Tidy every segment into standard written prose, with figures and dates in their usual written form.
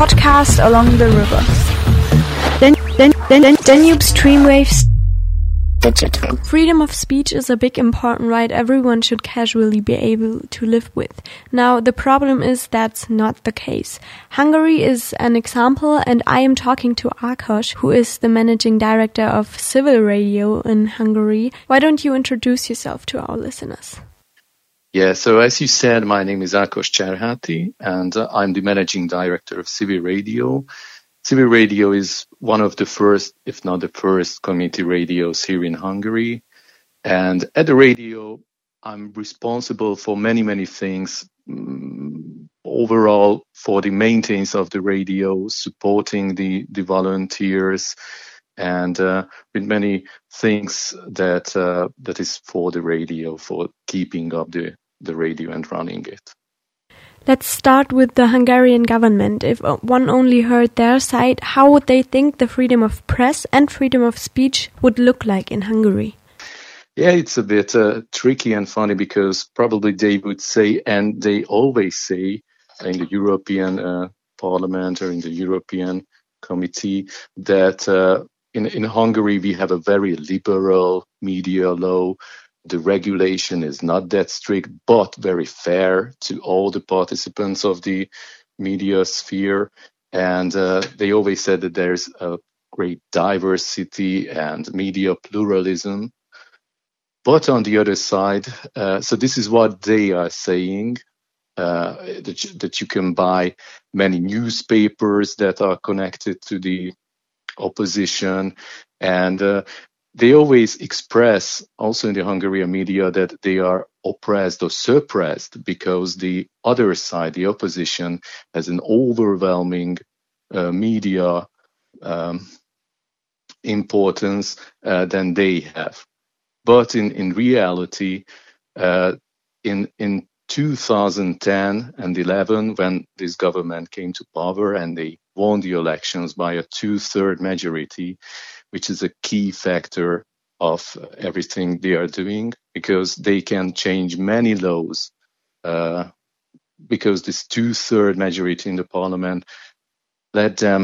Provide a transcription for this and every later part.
podcast along the river. Danube Streamwaves Digital. Freedom of speech is a big important right everyone should casually be able to live with. Now, the problem is that's not the case. Hungary is an example, and I am talking to Ákos, who is the managing director of Civil Radio in Hungary. Why don't you introduce yourself to our listeners? Yeah, so as you said, my name is Ákos Cserháti, and I'm the managing director of Civil Radio. Civil Radio is one of the first, if not the first, community radios here in Hungary. And at the radio, I'm responsible for many things. Overall, for the maintenance of the radio, supporting the volunteers, and with many things that is for the radio, for keeping up the radio and running it. Let's start with the Hungarian government. If one only heard their side, how would they think the freedom of press and freedom of speech would look like in Hungary? Yeah, it's a bit tricky and funny because probably they would say, and they always say in the European Parliament or in the European Committee, that in Hungary we have a very liberal media law. The regulation is not that strict, but very fair to all the participants of the media sphere. And they always said that there's a great diversity and media pluralism. But on the other side, so this is what they are saying, that you can buy many newspapers that are connected to the opposition. And they always express, also in the Hungarian media, that they are oppressed or suppressed because the other side, the opposition, has an overwhelming media importance than they have. But in reality, in 2010 and 11, when this government came to power and they won the elections by a 2/3 majority, which is a key factor of everything they are doing, because they can change many laws, because this 2/3 majority in the parliament let them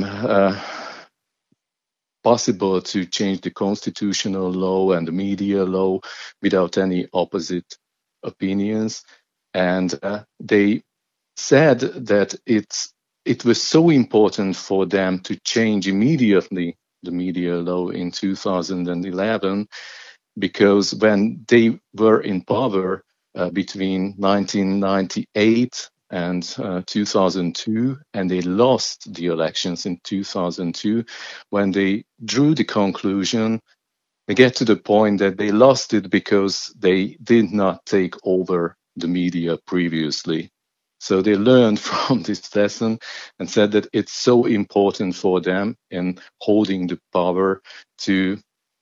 possible to change the constitutional law and the media law without any opposite opinions. And they said that it was so important for them to change immediately the media law in 2011, because when they were in power between 1998 and 2002, and they lost the elections in 2002, when they drew the conclusion, they get to the point that they lost it because they did not take over the media previously. So they learned from this lesson and said that it's so important for them in holding the power to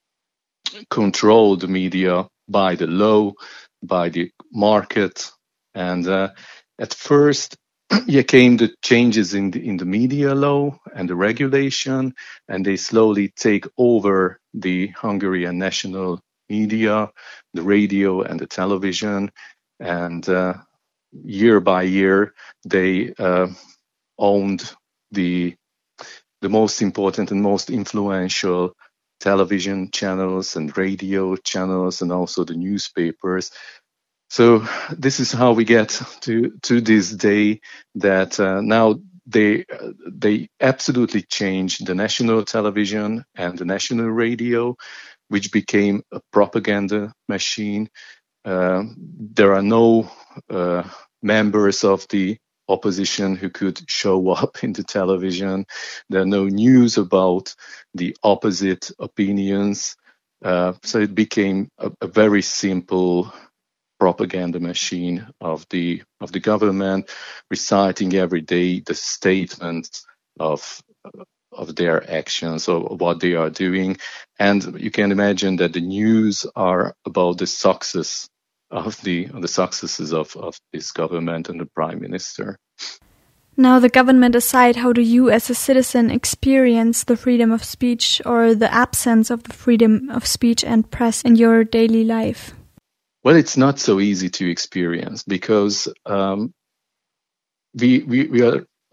control the media by the law, by the market. And at first, came the changes in the media law and the regulation, and they slowly take over the Hungarian national media, the radio and the television. And year by year, they owned the most important and most influential television channels and radio channels, and also the newspapers. So this is how we get to this day, that now they absolutely changed the national television and the national radio, which became a propaganda machine. There are no members of the opposition who could show up in the television. There are no news about the opposite opinions. So it became a very simple propaganda machine of the government, reciting every day the statements of their actions or what they are doing. And you can imagine that the news are about the success of the successes of this government and the prime minister. Now, the government aside, how do you as a citizen experience the freedom of speech or the absence of the freedom of speech and press in your daily life? Well, it's not so easy to experience because we are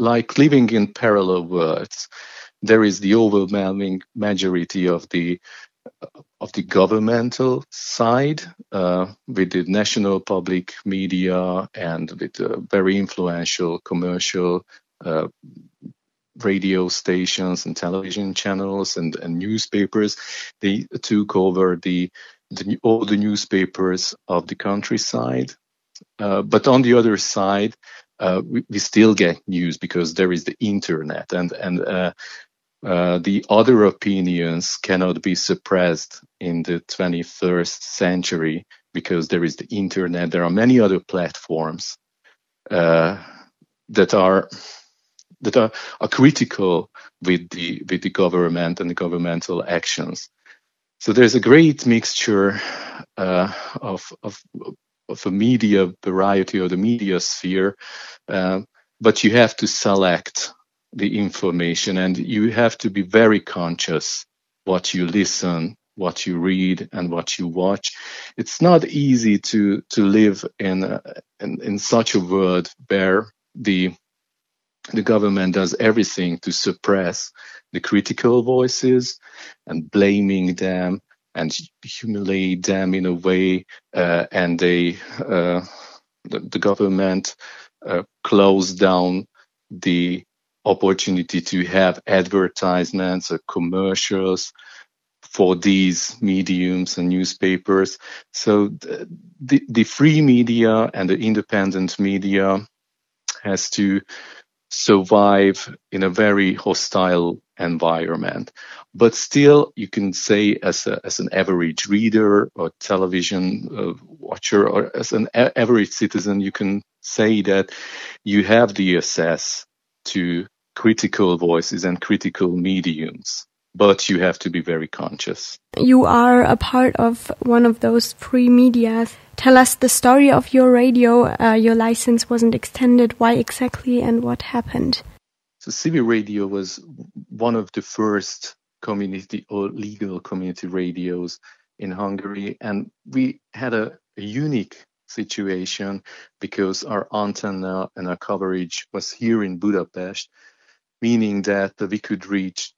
like living in parallel worlds. There is the overwhelming majority of the governmental side, with the national public media and with very influential commercial radio stations and television channels and newspapers. They took over all the newspapers of the countryside. But on the other side, we still get news because there is the internet, and the other opinions cannot be suppressed in the 21st century because there is the internet. There are many other platforms that are critical with the government and the governmental actions. So there's a great mixture of a media variety or the media sphere, but you have to select the information, and you have to be very conscious what you listen, what you read, and what you watch. It's not easy to live in such a world where the government does everything to suppress the critical voices and blaming them and humiliate them in a way, and the government closed down the opportunity to have advertisements or commercials for these mediums and newspapers. So the free media and the independent media has to survive in a very hostile environment. But still, you can say as an average reader or television watcher or as an average citizen, you can say that you have the access to critical voices and critical mediums, but you have to be very conscious. You are a part of one of those free media. Tell us the story of your radio. Your license wasn't extended. Why exactly, and what happened? So CB Radio was one of the first community or legal community radios in Hungary, and we had a unique situation because our antenna and our coverage was here in Budapest, meaning that we could reach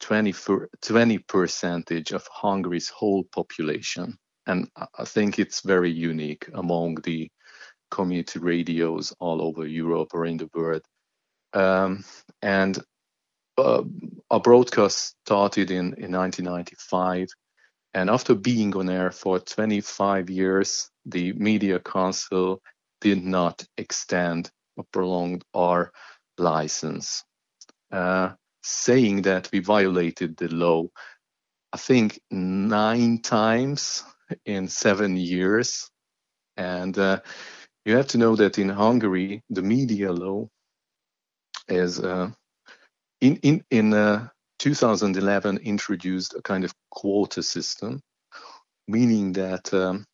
20% of Hungary's whole population. And I think it's very unique among the community radios all over Europe or in the world. And our broadcast started in 1995. And after being on air for 25 years, the Media Council did not extend or prolong our license, saying that we violated the law, I think 9 times in 7 years. And you have to know that in Hungary, the media law is in 2011 introduced a kind of quota system, meaning that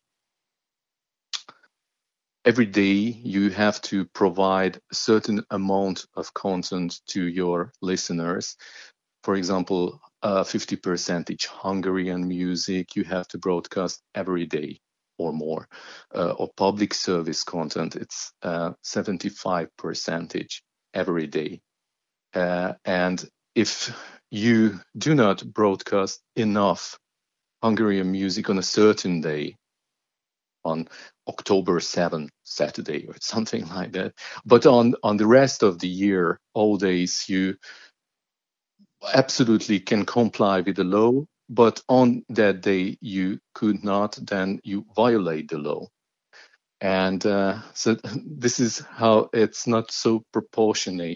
every day you have to provide a certain amount of content to your listeners. For example, 50% Hungarian music you have to broadcast every day or more, or public service content, it's 75% every day. And if you do not broadcast enough Hungarian music on a certain day, on October 7th, Saturday or something like that, but on the rest of the year, all days, you absolutely can comply with the law, but on that day you could not, then you violate the law. And so this is how it's not so proportionate.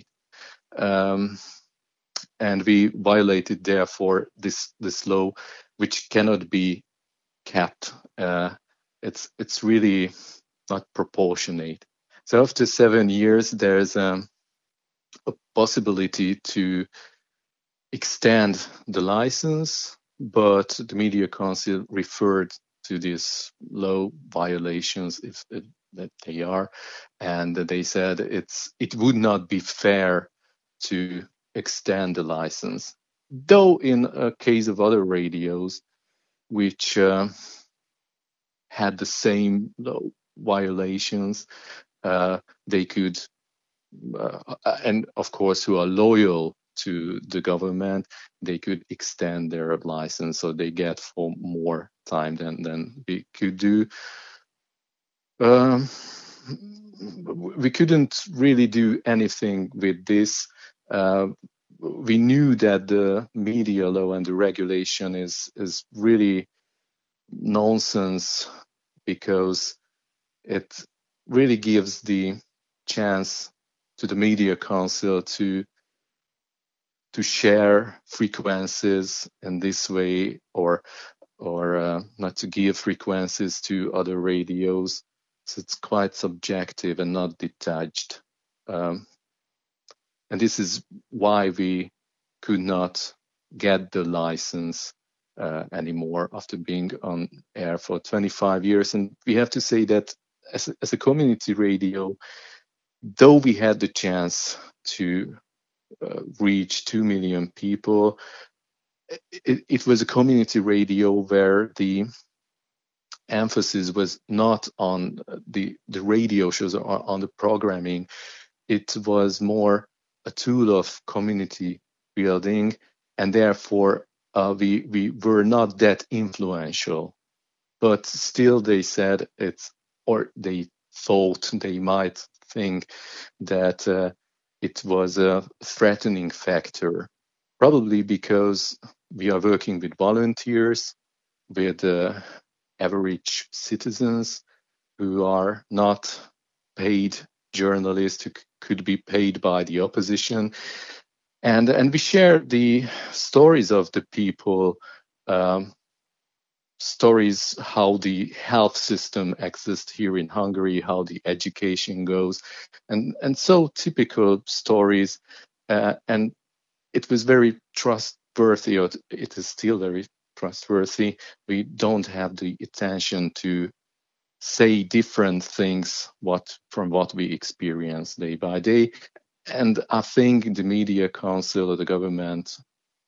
And we violated, therefore, this law, which cannot be kept. It's really not proportionate. So after 7 years, there's a possibility to extend the license, but the Media Council referred to these law violations that they are, and they said it would not be fair to extend the license. Though in a case of other radios which had the same law violations, they could and of course who are loyal to the government, they could extend their license, so they get for more time than we could do. We couldn't really do anything with this. We knew that the media law and the regulation is really nonsense, because it really gives the chance to the Media Council to share frequencies in this way, or not to give frequencies to other radios. So it's quite subjective and not detached. And this is why we could not get the license anymore after being on air for 25 years. And we have to say that as a community radio, though we had the chance to reach 2 million people, it was a community radio where the emphasis was not on the radio shows or on the programming. It was more a tool of community building, and therefore we were not that influential. But still, they said they thought, they might think that it was a threatening factor, probably because we are working with volunteers, with average citizens who are not paid journalists, who could be paid by the opposition. And we share the stories of the people, stories how the health system exists here in Hungary, how the education goes, and so typical stories. And it was very trustworthy, or it is still very trustworthy. We don't have the attention to say different things from what we experience day by day. And I think the Media Council or the government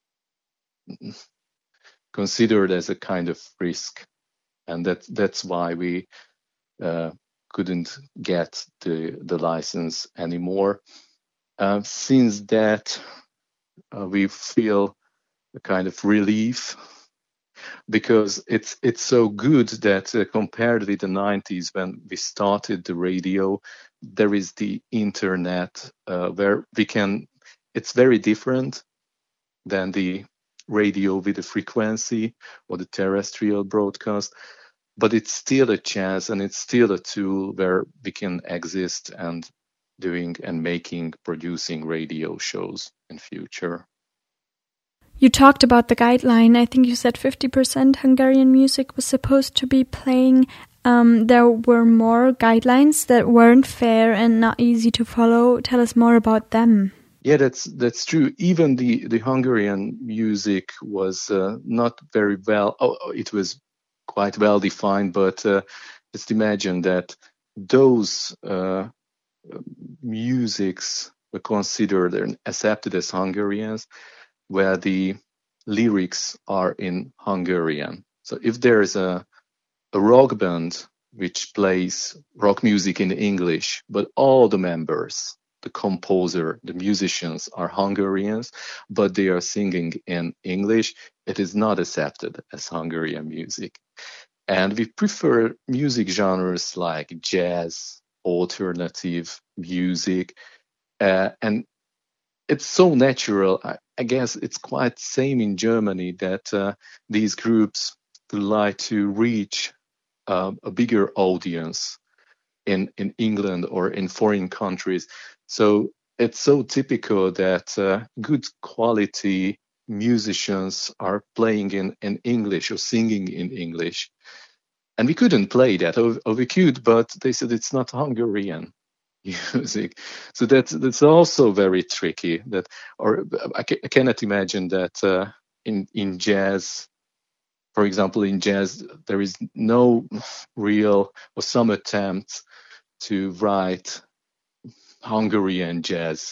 considered as a kind of risk, and that's why we couldn't get the license anymore. Since that, we feel a kind of relief, because it's so good that compared with the 90s when we started the radio, there is the internet where we can. It's very different than the radio with a frequency or the terrestrial broadcast, but it's still a chance, and it's still a tool where we can exist and producing radio shows in future. You talked about the guideline. I think you said 50% Hungarian music was supposed to be playing. There were more guidelines that weren't fair and not easy to follow. Tell us more about them. Yeah, that's true. Even the Hungarian music was not very well. It was quite well defined, but just imagine that those musics were considered and accepted as Hungarians, where the lyrics are in Hungarian. So if there is a rock band which plays rock music in English, but all the members, the composer, the musicians are Hungarians, but they are singing in English, it is not accepted as Hungarian music. And we prefer music genres like jazz, alternative music, and it's so natural. I guess it's quite same in Germany that these groups would like to reach a bigger audience in England or in foreign countries. So it's so typical that good quality musicians are playing in English or singing in English. And we couldn't play that, or we could, but they said it's not Hungarian music. So that's also very tricky. I cannot imagine that in jazz, for example, in jazz, there is no real or some attempt to write Hungarian jazz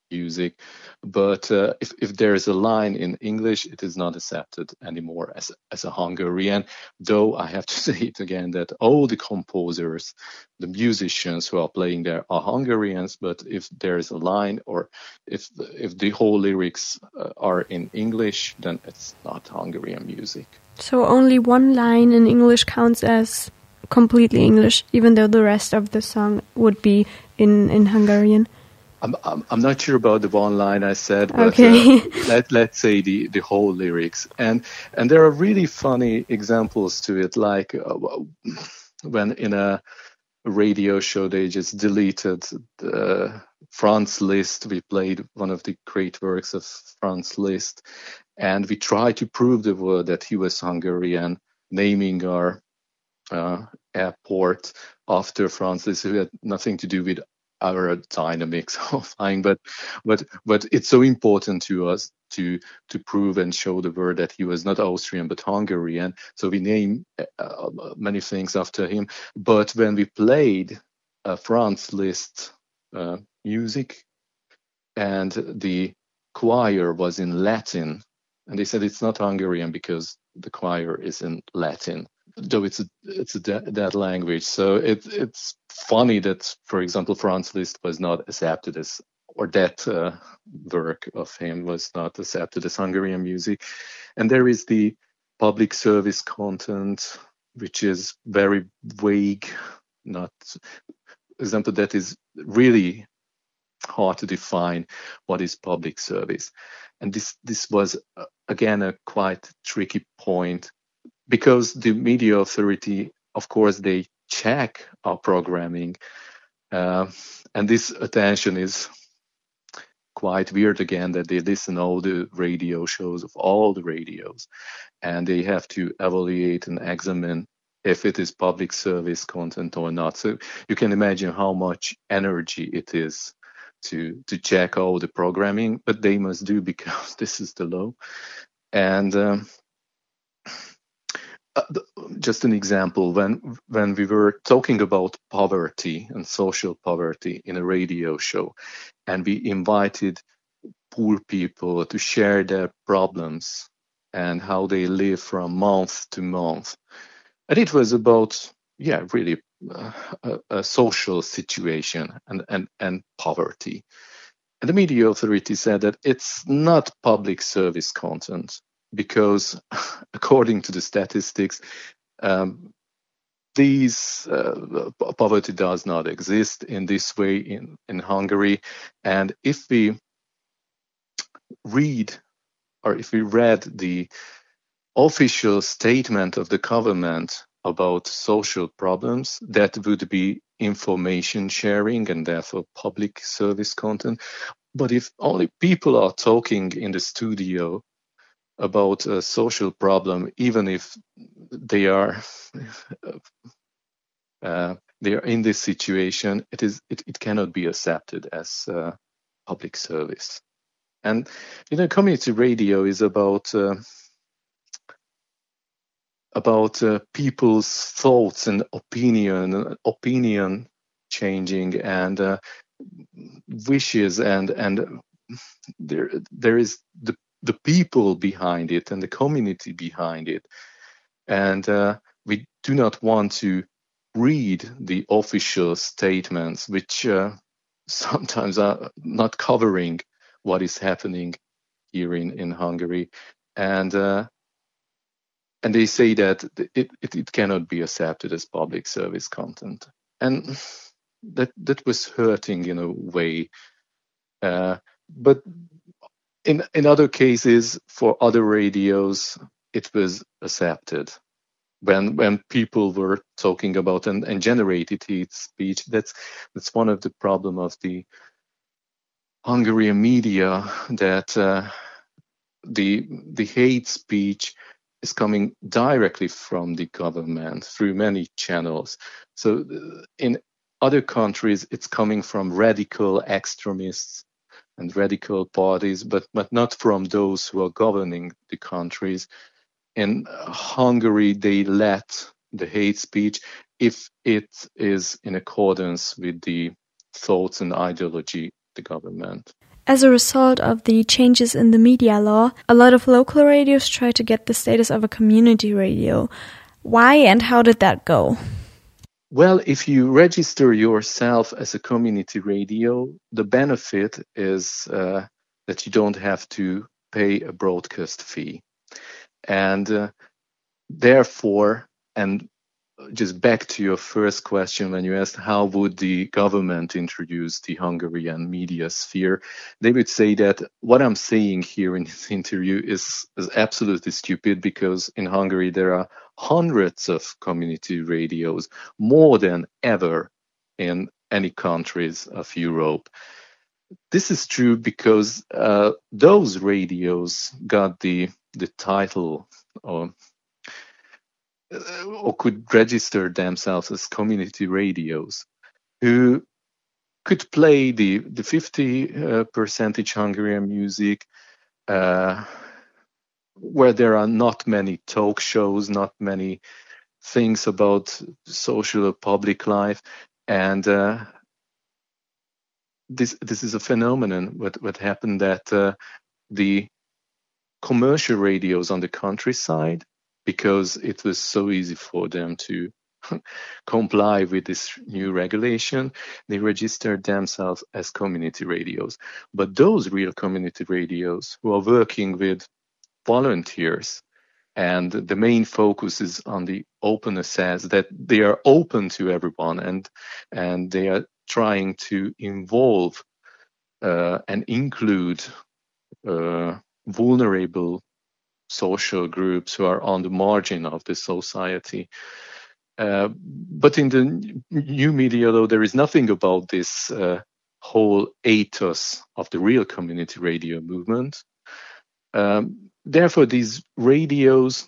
music. But if there is a line in English, it is not accepted anymore as a Hungarian. Though I have to say it again that all the composers, the musicians who are playing there are Hungarians. But if there is a line, or if the whole lyrics are in English, then it's not Hungarian music. So only one line in English counts as completely English, even though the rest of the song would be in Hungarian. I'm not sure about the one line I said, but okay. let's say the whole lyrics. And there are really funny examples to it, like when in a radio show they just deleted Franz Liszt. We played one of the great works of Franz Liszt, and we tried to prove the word that he was Hungarian, naming our airport after Franz Liszt, who had nothing to do with aerodynamics of flying, but it's so important to us to prove and show the word that he was not Austrian but Hungarian. So we name many things after him. But when we played Franz Liszt music, and the choir was in Latin, and they said it's not Hungarian because the choir is in Latin, though it's a dead language. So it's funny that, for example, Franz Liszt was not accepted as, or that work of him was not accepted as Hungarian music. And there is the public service content, which is very vague. Not example, that is really hard to define what is public service. And this was again a quite tricky point, because the media authority, of course, they check our programming, and this attention is quite weird again, that they listen all the radio shows of all the radios, and they have to evaluate and examine if it is public service content or not. So you can imagine how much energy it is to check all the programming, but they must do because this is the law. And just an example, when we were talking about poverty and social poverty in a radio show, and we invited poor people to share their problems and how they live from month to month, and it was about really a social situation and poverty, and the media authority said that it's not public service content, because according to the statistics, poverty does not exist in this way in Hungary. And if we read the official statement of the government about social problems, that would be information sharing and therefore public service content. But if only people are talking in the studio about a social problem, even if they are in this situation, it cannot be accepted as public service. And community radio is about people's thoughts and opinion changing, and wishes, and there is the people behind it and the community behind it. And we do not want to read the official statements, which sometimes are not covering what is happening here in Hungary. And they say that it cannot be accepted as public service content. And that was hurting in a way. But in other cases, for other radios, it was accepted. When people were talking about and generated hate speech, that's one of the problem of the Hungarian media, that the hate speech is coming directly from the government through many channels. So in other countries, it's coming from radical extremists and radical parties, but not from those who are governing the countries. In Hungary, they let the hate speech if it is in accordance with the thoughts and ideology of the government. As a result of the changes in the media law, a lot of local radios try to get the status of a community radio. Why and how did that go? Well, if you register yourself as a community radio, the benefit is that you don't have to pay a broadcast fee. And therefore, and just back to your first question when you asked how would the government introduce the Hungarian media sphere, they would say that what I'm saying here in this interview is absolutely stupid, because in Hungary there are hundreds of community radios, more than ever in any countries of Europe. This is true because those radios got the title or could register themselves as community radios, who could play the 50% Hungarian music, where there are not many talk shows, not many things about social or public life, and this is a phenomenon. What happened that the commercial radios on the countryside, because it was so easy for them to comply with this new regulation, they registered themselves as community radios. But those real community radios who are working with volunteers, and the main focus is on the open access, that they are open to everyone, and they are trying to involve and include vulnerable social groups who are on the margin of the society. But in the new media law, there is nothing about this whole ethos of the real community radio movement. Therefore, these radios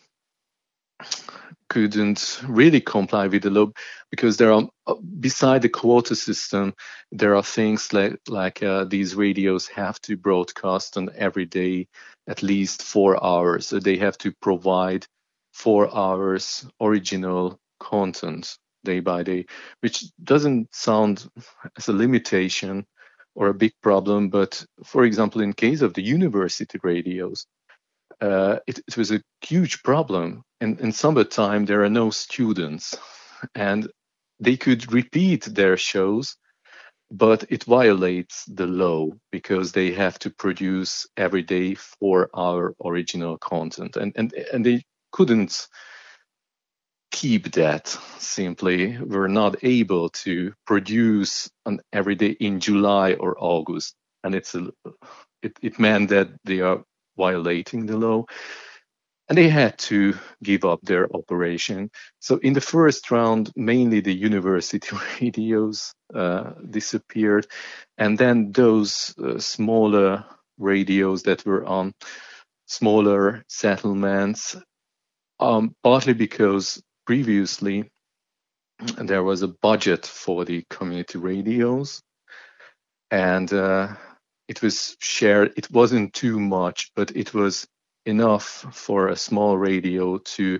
couldn't really comply with the law, because there are, beside the quota system, there are things like these radios have to broadcast on every day at least 4 hours. So they have to provide 4 hours original content day by day, which doesn't sound as a limitation or a big problem. But for example, in case of the university radios, it was a huge problem. And in summertime, there are no students, and they could repeat their shows, but it violates the law because they have to produce every day 4 hour original content, and they couldn't keep that. Simply were not able to produce on every day in July or August, and it meant that they are violating the law, and they had to give up their operation. So in the first round, mainly the university radios disappeared, and then those smaller radios that were on smaller settlements, partly because previously there was a budget for the community radios, and it was shared. It wasn't too much, but it was enough for a small radio to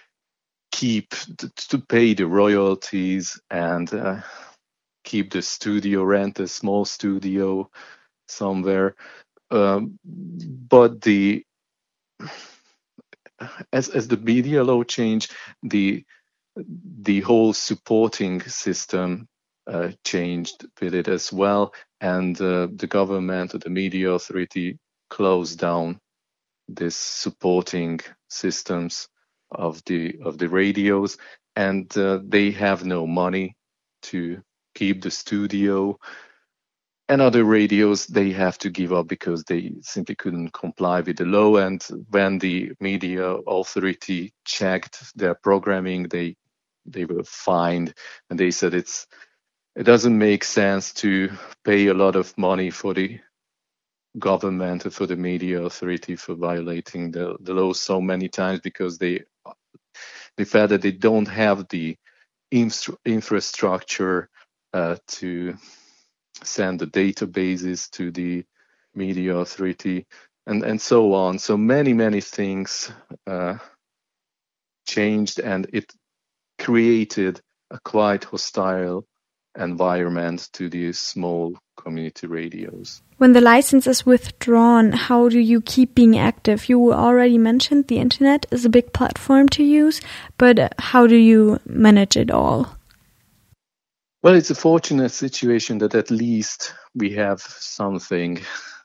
pay the royalties and keep the studio, rent a small studio somewhere. But as the media law changed, the whole supporting system changed with it as well, and the government or the media authority closed down this supporting systems of the radios, and they have no money to keep the studio. And other radios, they have to give up because they simply couldn't comply with the law. And when the media authority checked their programming, they were fined, and they said it doesn't make sense to pay a lot of money for the government or for the media authority for violating the law so many times, because they felt that they don't have the infrastructure to send the databases to the media authority, and so on. So many things changed, and it created a quite hostile environment to these small community radios. When the license is withdrawn, how do you keep being active? You already mentioned the internet is a big platform to use, but how do you manage it all? Well, it's a fortunate situation that at least we have something.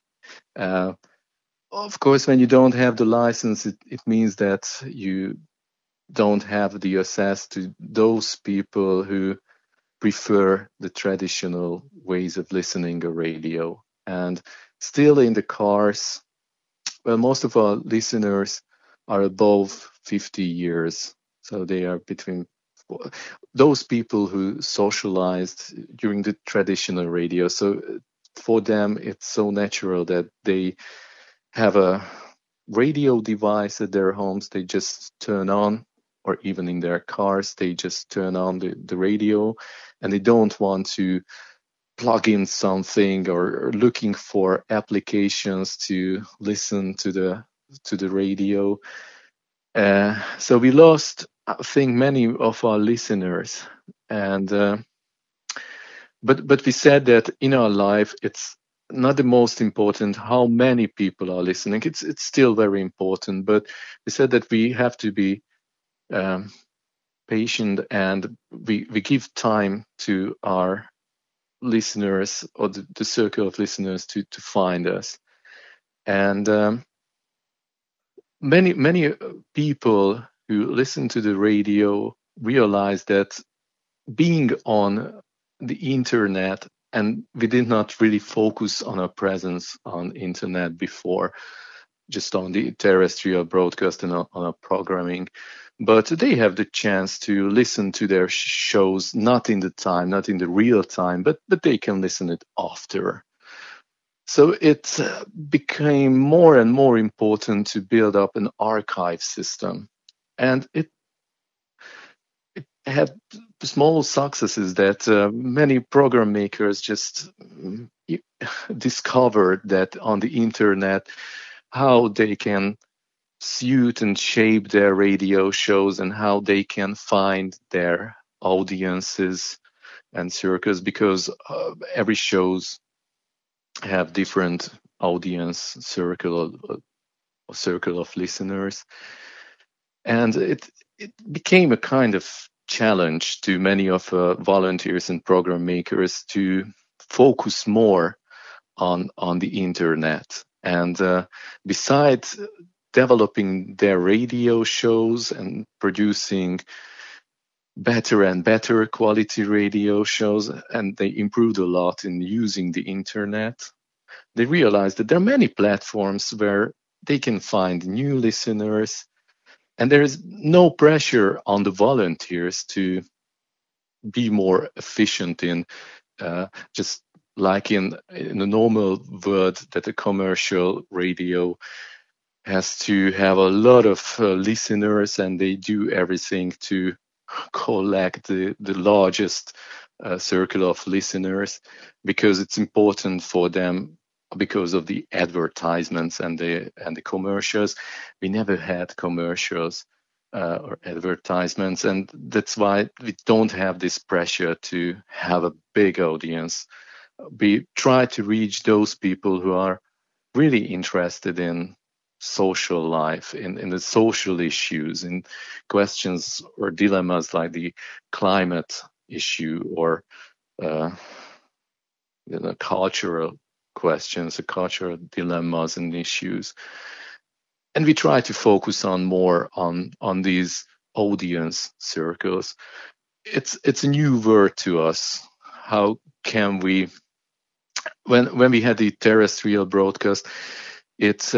Of course, when you don't have the license, it means that you don't have the access to those people who prefer the traditional ways of listening to radio. And still in the cars, well, most of our listeners are above 50 years. So they are between those people who socialized during the traditional radio. So for them, it's so natural that they have a radio device at their homes. They just turn on, or even in their cars, they just turn on the radio, and they don't want to plug in something or looking for applications to listen to the radio. So we lost, I think, many of our listeners, and but we said that in our life it's not the most important how many people are listening. It's still very important, but we said that we have to be patient, and we give time to our listeners, or the circle of listeners, to find us. And many people who listen to the radio realize that being on the internet, and we did not really focus on our presence on internet before, just on the terrestrial broadcast and on our programming, but they have the chance to listen to their shows not in the real time, but they can listen it after. So it became more and more important to build up an archive system, and it had small successes that many program makers just discovered that on the internet how they can suit and shape their radio shows and how they can find their audiences and circles, because every shows have different audience circle of listeners, and it became a kind of challenge to many of volunteers and program makers to focus more on the internet. And besides developing their radio shows and producing better and better quality radio shows, and they improved a lot in using the internet, they realized that there are many platforms where they can find new listeners, and there is no pressure on the volunteers to be more efficient in just like in a normal world that a commercial radio has to have a lot of listeners, and they do everything to collect the largest circle of listeners, because it's important for them because of the advertisements and the commercials. We never had commercials or advertisements, and that's why we don't have this pressure to have a big audience. We try to reach those people who are really interested in social life, in the social issues, in questions or dilemmas like the climate issue, or cultural questions, the cultural dilemmas and issues. And we try to focus more on these audience circles. It's a new word to us. How can we, when we had the terrestrial broadcast, it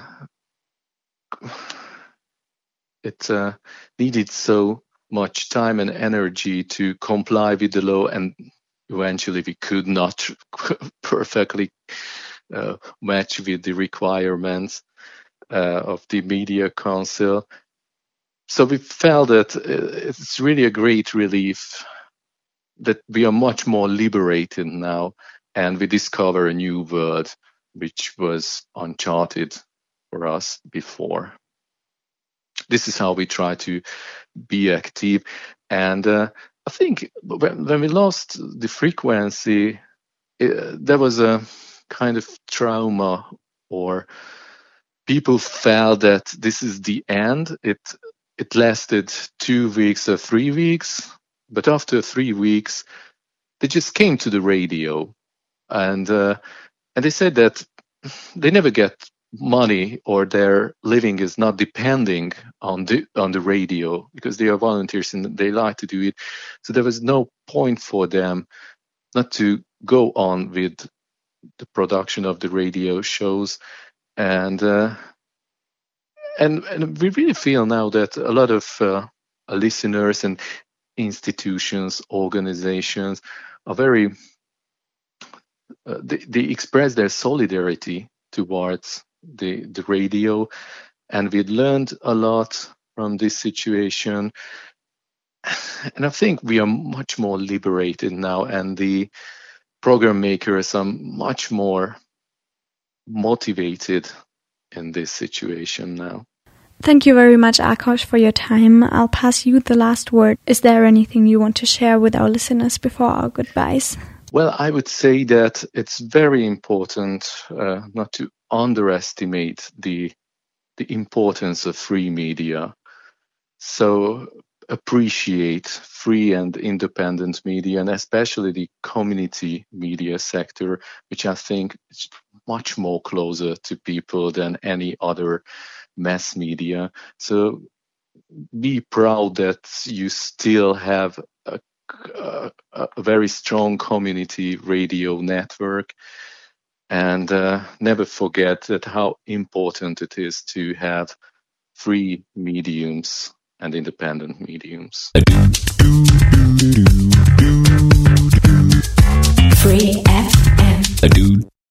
needed so much time and energy to comply with the law, and eventually we could not perfectly match with the requirements of the Media Council. So we felt that it's really a great relief that we are much more liberated now, and we discover a new world which was uncharted for us before. This is how we try to be active. And I think when we lost the frequency, there was a kind of trauma, or people felt that this is the end. It lasted 2 weeks or 3 weeks, but after 3 weeks, they just came to the radio, and they said that they never get money, or their living is not depending on the radio, because they are volunteers and they like to do it. So there was no point for them not to go on with the production of the radio shows, and we really feel now that a lot of listeners and institutions, organizations are very they express their solidarity towards the radio, and we learned a lot from this situation, and I think we are much more liberated now, and the program makers are much more motivated in this situation now. Thank you very much, Akash, for your time. I'll pass you the last word. Is there anything you want to share with our listeners before our goodbyes? Well, I would say that it's very important not to underestimate the importance of free media. So appreciate free and independent media, and especially the community media sector, which I think is much more closer to people than any other mass media. So be proud that you still have a very strong community radio network, and never forget that how important it is to have free mediums and independent mediums. Free FM.